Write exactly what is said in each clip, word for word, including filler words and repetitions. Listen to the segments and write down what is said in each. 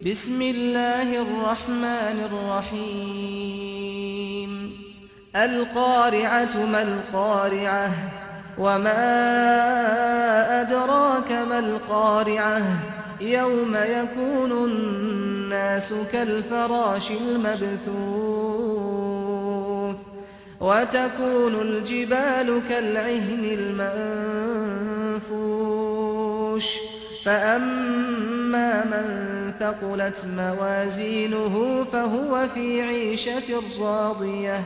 بسم الله الرحمن الرحيم القارعة ما القارعة وما أدراك ما القارعة يوم يكون الناس كالفراش المبثوث وتكون الجبال كالعهن المنفوش فأما من ثقلت موازينه فهو في عيشة راضية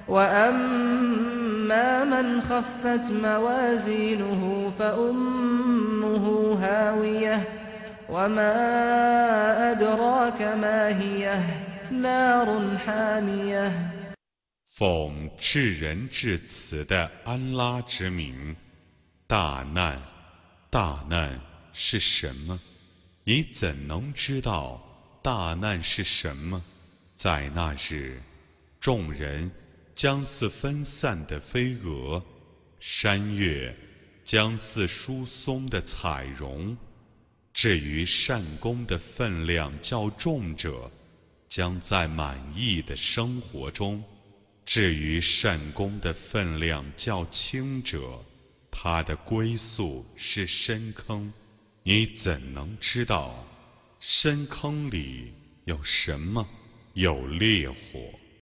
وأما من خفت موازينه فأمه هاوية وما أدراك ما هي نار حامية 奉至仁至慈的安拉之名，大难，大难是什么？你怎能知道大难是什么？在那日，众人将似分散的飞蛾，山岳将似疏松的彩绒。至于善功的分量较重者，将在满意的生活中；至于善功的分量较轻者，他的归宿是深坑。你怎能知道深坑里有什么？有烈火。